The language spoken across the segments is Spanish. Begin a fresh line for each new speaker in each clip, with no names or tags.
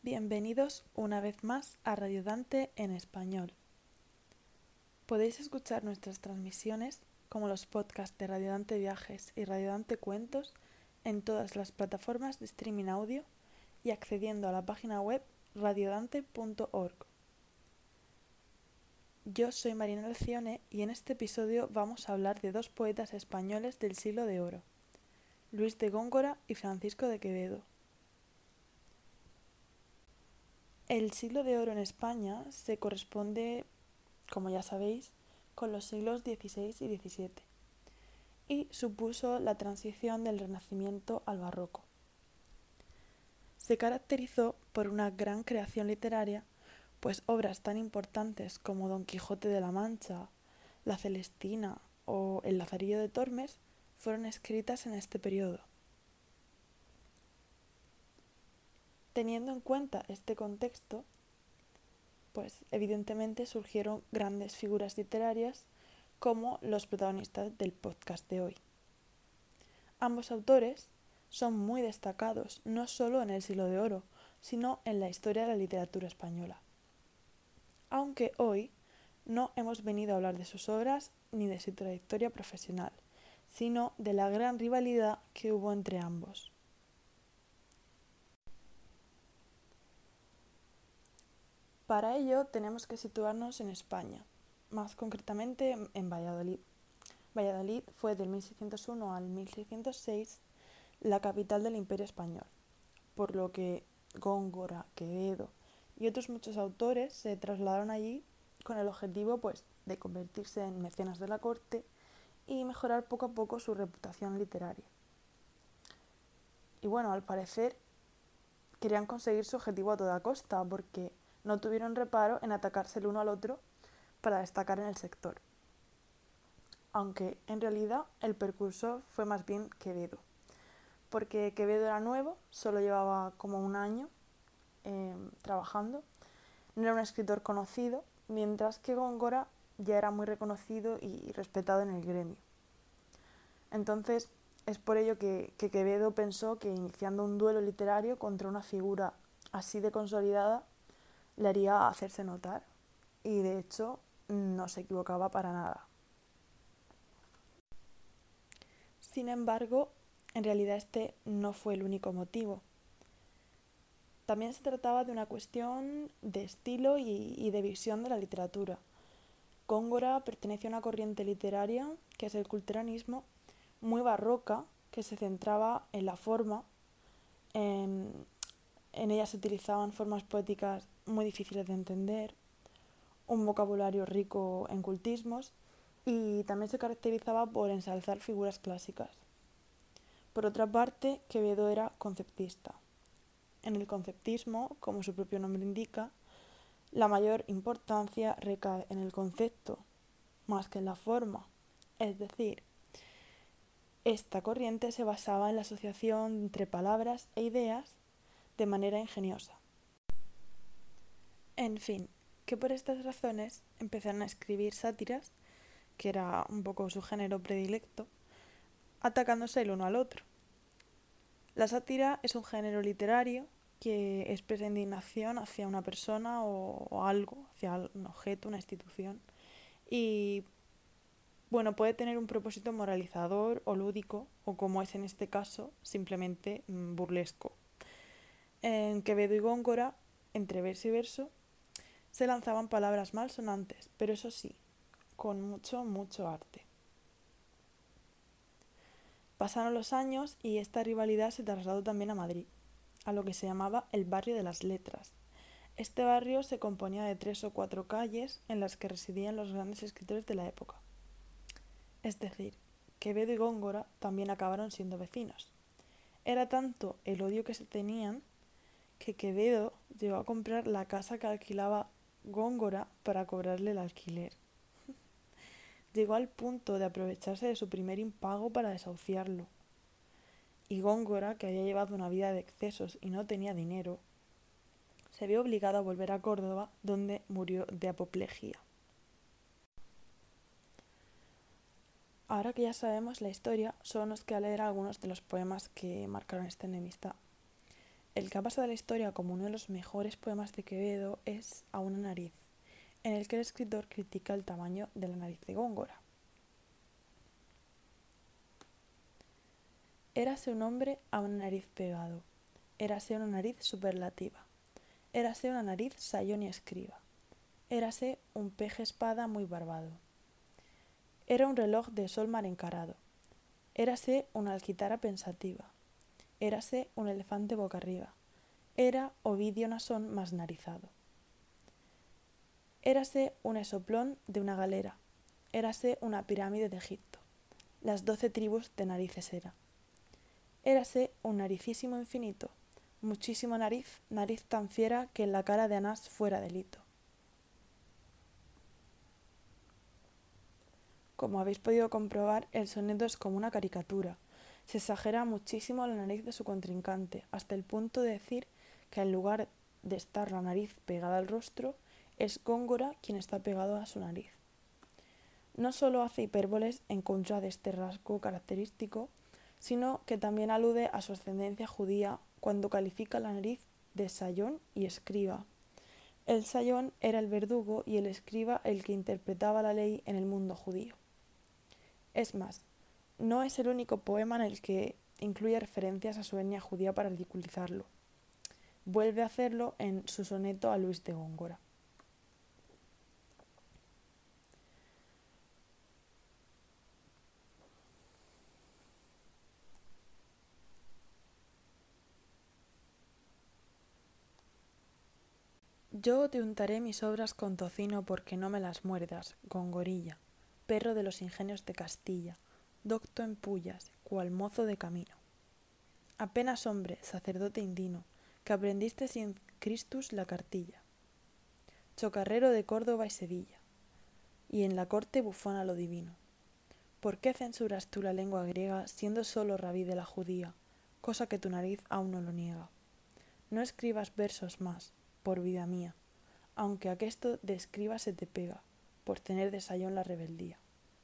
Bienvenidos una vez más a Radio Dante en español. Podéis escuchar nuestras transmisiones, como los podcasts de Radio Dante Viajes y Radio Dante Cuentos, en todas las plataformas de streaming audio y accediendo a la página web radiodante.org. Yo soy Marina Alcione y en este episodio vamos a hablar de dos poetas españoles del Siglo de Oro, Luis de Góngora y Francisco de Quevedo. El Siglo de Oro en España se corresponde, como ya sabéis, con los siglos XVI y XVII, y supuso la transición del Renacimiento al Barroco. Se caracterizó por una gran creación literaria, pues obras tan importantes como Don Quijote de la Mancha, La Celestina o El Lazarillo de Tormes fueron escritas en este periodo. Teniendo en cuenta este contexto, pues evidentemente surgieron grandes figuras literarias como los protagonistas del podcast de hoy. Ambos autores son muy destacados no solo en el Siglo de Oro, sino en la historia de la literatura española. Aunque hoy no hemos venido a hablar de sus obras ni de su trayectoria profesional, sino de la gran rivalidad que hubo entre ambos. Para ello tenemos que situarnos en España, más concretamente en Valladolid. Valladolid fue del 1601 al 1606 la capital del Imperio Español, por lo que Góngora, Quevedo y otros muchos autores se trasladaron allí con el objetivo de convertirse en mecenas de la corte y mejorar poco a poco su reputación literaria. Y bueno, al parecer querían conseguir su objetivo a toda costa porque no tuvieron reparo en atacarse el uno al otro para destacar en el sector. Aunque en realidad el precursor fue más bien Quevedo, porque Quevedo era nuevo, solo llevaba como un año trabajando, no era un escritor conocido, mientras que Góngora ya era muy reconocido y respetado en el gremio. Entonces es por ello que Quevedo pensó que iniciando un duelo literario contra una figura así de consolidada le haría hacerse notar, y de hecho no se equivocaba para nada. Sin embargo, en realidad este no fue el único motivo. También se trataba de una cuestión de estilo y de visión de la literatura. Góngora pertenecía a una corriente literaria, que es el culteranismo, muy barroca, que se centraba en la forma. En, en ella se utilizaban formas poéticas muy difíciles de entender, un vocabulario rico en cultismos, y también se caracterizaba por ensalzar figuras clásicas. Por otra parte, Quevedo era conceptista. En el conceptismo, como su propio nombre indica, la mayor importancia recae en el concepto más que en la forma. Es decir, esta corriente se basaba en la asociación entre palabras e ideas de manera ingeniosa. En fin, que por estas razones empezaron a escribir sátiras, que era un poco su género predilecto, atacándose el uno al otro. La sátira es un género literario que expresa indignación hacia una persona o algo, hacia un objeto, una institución, y bueno, puede tener un propósito moralizador o lúdico, o como es en este caso, simplemente burlesco. En Quevedo y Góngora, entre verso y verso, se lanzaban palabras malsonantes, pero eso sí, con mucho, mucho arte. Pasaron los años y esta rivalidad se trasladó también a Madrid, a lo que se llamaba el Barrio de las Letras. Este barrio se componía de 3 o 4 calles en las que residían los grandes escritores de la época. Es decir, Quevedo y Góngora también acabaron siendo vecinos. Era tanto el odio que se tenían que Quevedo llegó a comprar la casa que alquilaba Góngora para cobrarle el alquiler. Llegó al punto de aprovecharse de su primer impago para desahuciarlo. Y Góngora, que había llevado una vida de excesos y no tenía dinero, se vio obligado a volver a Córdoba, donde murió de apoplejía. Ahora que ya sabemos la historia, solo nos queda leer algunos de los poemas que marcaron esta enemistad. El que ha pasado a la historia como uno de los mejores poemas de Quevedo es A una nariz, en el que el escritor critica el tamaño de la nariz de Góngora. Érase un hombre a una nariz pegado, érase una nariz superlativa, érase una nariz sayón y escriba, érase un peje espada muy barbado, era un reloj de sol mar encarado, érase una alquitara pensativa, érase un elefante boca arriba, era Ovidio Nasón más narizado. Érase un esoplón de una galera, érase una pirámide de Egipto, las 12 tribus de narices era. Érase un naricísimo infinito, muchísimo nariz, nariz tan fiera que en la cara de Anás fuera delito. Como habéis podido comprobar, el soneto es como una caricatura. Se exagera muchísimo la nariz de su contrincante, hasta el punto de decir que en lugar de estar la nariz pegada al rostro, es Góngora quien está pegado a su nariz. No solo hace hipérboles en contra de este rasgo característico, sino que también alude a su ascendencia judía cuando califica la nariz de sayón y escriba. El sayón era el verdugo y el escriba el que interpretaba la ley en el mundo judío. Es más, no es el único poema en el que incluye referencias a su etnia judía para ridiculizarlo. Vuelve a hacerlo en su soneto a Luis de Góngora. Yo te untaré mis obras con tocino porque no me las muerdas, Gongorilla, perro de los ingenios de Castilla, docto en pullas, cual mozo de camino. Apenas hombre, sacerdote indino, que aprendiste sin Christus la cartilla. Chocarrero de Córdoba y Sevilla, y en la corte bufona lo divino. ¿Por qué censuras tú la lengua griega siendo solo rabí de la judía, cosa que tu nariz aún no lo niega? No escribas versos más, por vida mía, aunque aquesto de escriba se te pega, por tener de sayón la rebeldía.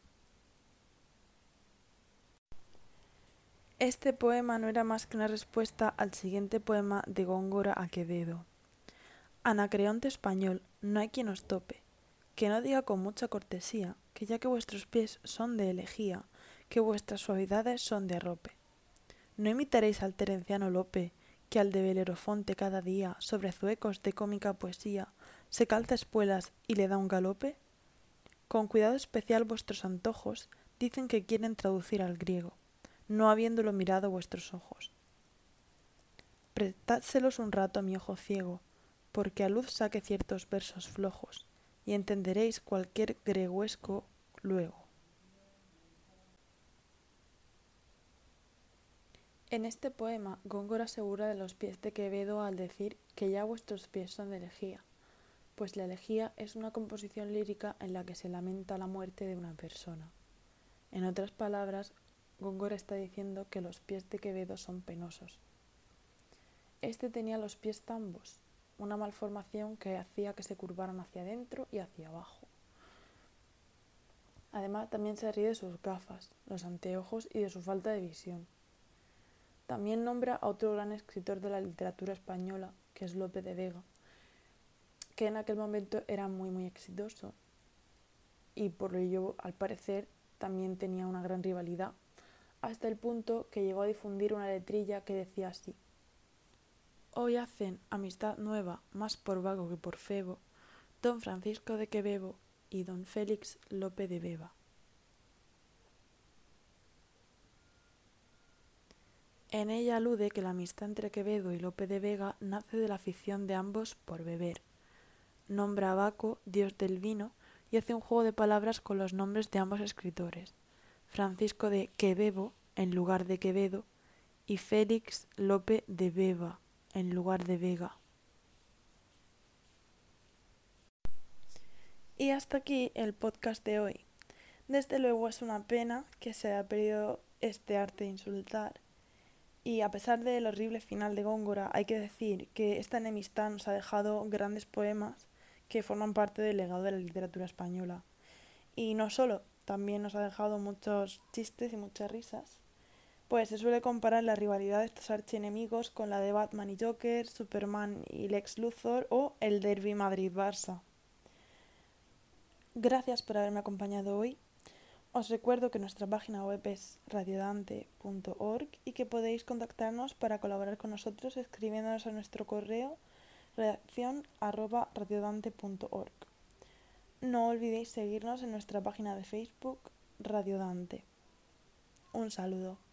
Este poema no era más que una respuesta al siguiente poema de Góngora a Quevedo. Anacreonte español, no hay quien os tope, que no diga con mucha cortesía, que ya que vuestros pies son de elegía, que vuestras suavidades son de arrope. No imitaréis al terenciano Lope, que al de Belerofonte cada día, sobre zuecos de cómica poesía, se calza espuelas y le da un galope. Con cuidado especial vuestros antojos dicen que quieren traducir al griego, no habiéndolo mirado vuestros ojos. Prestádselos un rato a mi ojo ciego, porque a luz saque ciertos versos flojos, y entenderéis cualquier gregüesco luego. En este poema, Góngora asegura de los pies de Quevedo al decir que ya vuestros pies son de elegía, pues la elegía es una composición lírica en la que se lamenta la muerte de una persona. En otras palabras, Góngora está diciendo que los pies de Quevedo son penosos. Este tenía los pies zambos, una malformación que hacía que se curvaran hacia adentro y hacia abajo. Además, también se ríe de sus gafas, los anteojos y de su falta de visión. También nombra a otro gran escritor de la literatura española, que es Lope de Vega, que en aquel momento era muy exitoso y por ello, al parecer, también tenía una gran rivalidad, hasta el punto que llegó a difundir una letrilla que decía así: hoy hacen amistad nueva, más por vago que por febo, don Francisco de Quevedo y don Félix Lope de Vega. En ella alude que la amistad entre Quevedo y Lope de Vega nace de la afición de ambos por beber. Nombra a Baco, dios del vino, y hace un juego de palabras con los nombres de ambos escritores, Francisco de Quevedo en lugar de Quevedo y Félix Lope de Vega en lugar de Vega. Y hasta aquí el podcast de hoy. Desde luego es una pena que se haya perdido este arte de insultar. Y a pesar del horrible final de Góngora, hay que decir que esta enemistad nos ha dejado grandes poemas que forman parte del legado de la literatura española. Y no solo, también nos ha dejado muchos chistes y muchas risas. Pues se suele comparar la rivalidad de estos archienemigos con la de Batman y Joker, Superman y Lex Luthor o el Derby Madrid-Barça. Gracias por haberme acompañado hoy. Os recuerdo que nuestra página web es radiodante.org y que podéis contactarnos para colaborar con nosotros escribiéndonos a nuestro correo redaccion@radiodante.org. No olvidéis seguirnos en nuestra página de Facebook Radiodante. Un saludo.